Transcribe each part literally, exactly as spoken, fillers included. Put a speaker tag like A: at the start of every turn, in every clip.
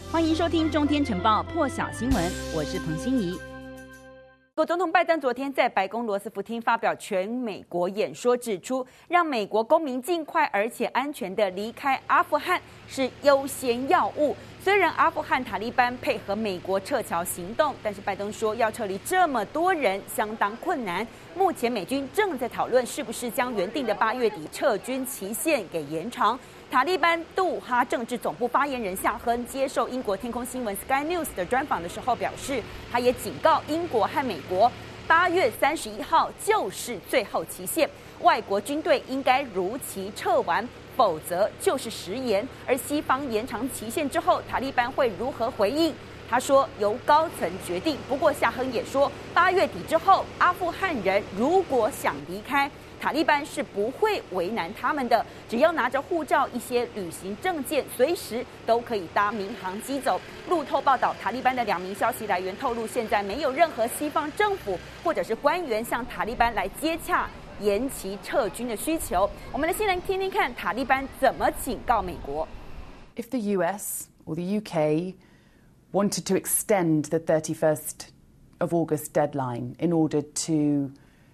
A: 歡迎收聽《中天晨報》破曉新聞，我是彭欣怡。美國總統拜登昨天在白宮羅斯福廳發表全美國演說，指出讓美國公民盡快而且安全地離開阿富汗是優先要務。雖然阿富汗塔利班配合美國撤僑行動，但是拜登說要撤離這麼多人相當困難。目前美軍正在討論是不是將原定的八月底撤軍期限給延長。塔利班杜哈政治總部發言人夏亨接受英國天空新聞 Sky News 的專訪的時候表示，他也警告英國和美國，八月三十一號就是最後期限，外國軍隊應該如期撤完，否則就是食言。而西方延長期限之後，塔利班會如何回應？他說由高層決定。不過夏亨也說，八月底之後，阿富汗人如果想離開，塔利班是不會為難他們的，只要拿着護照、一些旅行證件，隨時都可以搭民航機走。路透報道，塔利班的兩名消息來源透露，現在沒有任何西方政府或者是官員向塔利班來接洽延期撤軍的需求。我們來先來聽聽看塔利班怎麼警告美國。
B: If the U S or the U K wanted to extend the thirty-first of August deadline in order to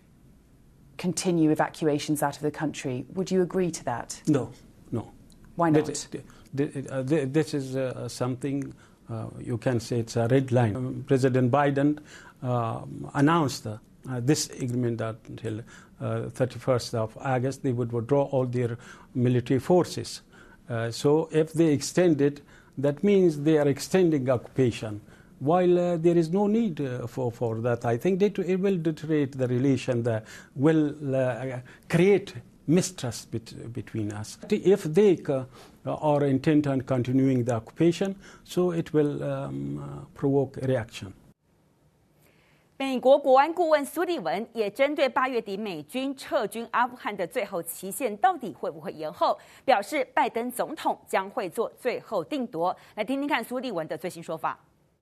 B: continue evacuations out of the country, would you agree to that?
C: No, no.
B: Why not?
C: This, uh, this is uh, something uh, you can say it's a red line. Um, President Biden uh, announced uh, uh, this agreement that until uh, thirty-first of August they would withdraw all their military forces. Uh, so if they extend it, that means they are extending occupation. While uh, there is no need uh, for, for that, I think it, it will deteriorate the relation, that will uh, create mistrust bet, between us. If they uh, are intent on continuing the occupation, so it will um, uh, provoke a reaction.
A: 美國國安顧問蘇利文也針對八月底美軍撤軍阿富汗的最後期限到底會不會延後，表示拜登總統將會做最後定奪。來聽聽看蘇利文的最新說法。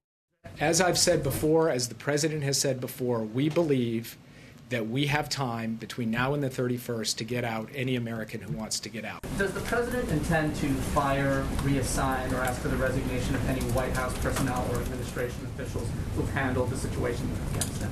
D: As I've said before, as the president has said before, we believe that we have time between now and the thirty-first to get out any American who wants to get out.
E: Does the president intend to fire, reassign, or ask for the resignation of any White House personnel or administration officials who've handled the situation in Afghanistan?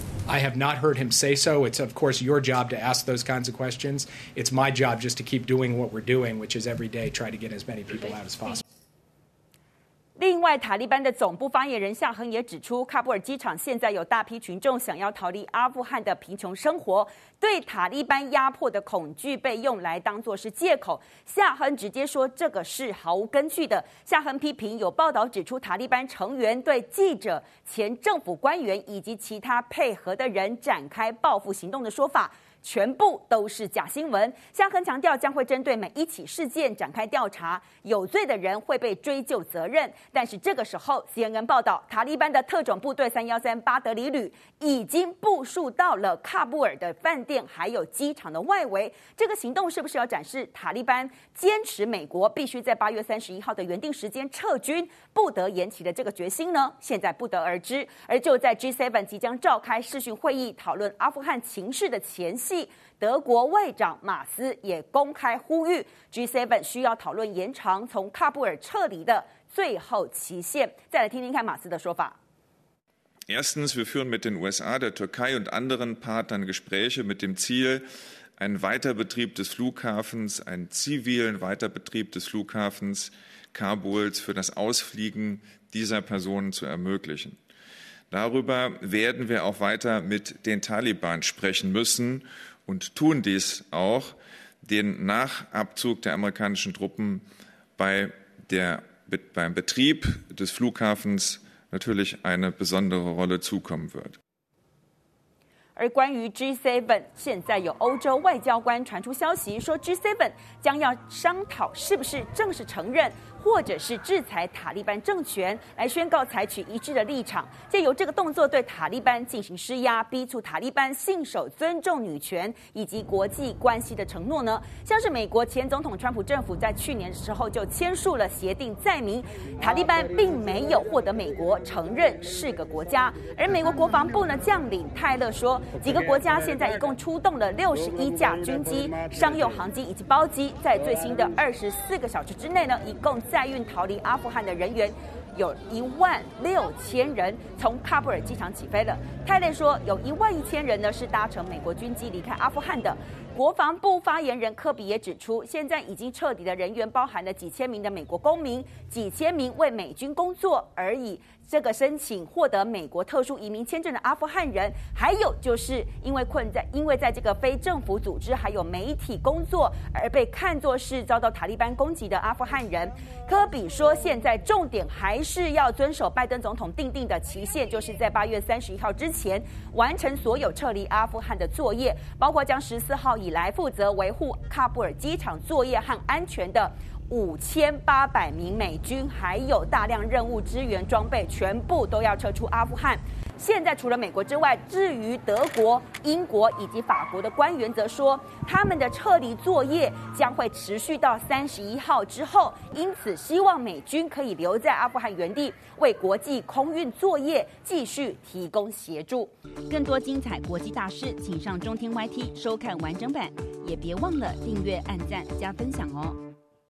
D: I have not heard him say so. It's, of course, your job to ask those kinds of questions. It's my job just to keep doing what we're doing, which is every day try to get as many people out as possible.
A: 另外，塔利班的總部發言人夏亨也指出，喀布爾機場現在有大批群眾想要逃離阿富汗的貧窮生活，對塔利班壓迫的恐懼被用來當作是借口。夏亨直接說這個是毫無根據的。夏亨批評有報道指出，塔利班成員對記者、前政府官員以及其他配合的人展開報復行動的說法，全部都是假新聞。夏亨強調將會針對每一起事件展開調查，有罪的人會被追究責任。但是這個時候 C N N 報道，塔利班的特種部隊三一三巴德里旅已經部署到了喀布爾的飯店還有機場的外圍。這個行動是不是要展示塔利班堅持美國必須在八月三十一號的原定時間撤軍，不得延期的這個決心呢？現在不得而知。而就在 G 七 即將召開視訊會議討論阿富汗情勢的前夕，德國外長馬斯也公開呼籲 G 七 需要討論延長從喀布爾撤離的最後期限。再來聽聽看馬斯的說法。
F: Erstens, wir führen mit den U S A, der Türkei und anderen Partnern Gespräche mit dem Ziel, einen Weiterbetrieb des Flughafens, einen zivilen Weiterbetrieb des Flughafens Kabuls für das Ausfliegen dieser Personen zu ermöglichen. Darüber werden wir auch weiter mit den Taliban sprechen müssen und tun dies auch, den nach Abzug der amerikanischen Truppen bei der, beim Betrieb des Flughafens natürlich eine besondere Rolle zukommen wird.
A: 而關於 G 七， 現在有歐洲外交官傳出消息，說 G 七 將要商討是不是正式承認或者是制裁塔利班政權，來宣告採取一致的立場，借由這個動作對塔利班進行施壓，逼促塔利班信守尊重女權以及國際關係的承諾呢？像是美國前總統川普政府在去年的時候就簽署了協定，載明塔利班並沒有獲得美國承認是個國家。而美國國防部呢將領泰勒說，幾個國家現在一共出動了六十一架軍機、商用航機以及包機，在最新的二十四個小時之內呢，一共載運逃離阿富汗的人員有一萬六千人從喀布爾機場起飛了。泰勒說，有一萬一千人呢是搭乘美國軍機離開阿富汗的。國防部發言人科比也指出，現在已經撤離的人員包含了幾千名的美國公民，幾千名為美軍工作而已。這個申請獲得美國特殊移民簽證的阿富汗人，還有就是因為困在因為在這個非政府組織還有媒體工作而被看作是遭到塔利班攻擊的阿富汗人。科比說，現在重點還是要遵守拜登總統訂定的期限，就是在八月三十一號之前完成所有撤離阿富汗的作業，包括將十四號以來負責維護喀布爾機場作業和安全的五千八百名美軍，還有大量任務支援裝備，全部都要撤出阿富汗。現在除了美國之外，至於德國、英國以及法國的官員則說，他們的撤離作業將會持續到三十一號之後，因此希望美軍可以留在阿富汗原地，為國際空運作業繼續提供協助。更多精彩國際大事，請上中天 Y T 收看完整版，也別忘了訂閱、按讚、加分享哦。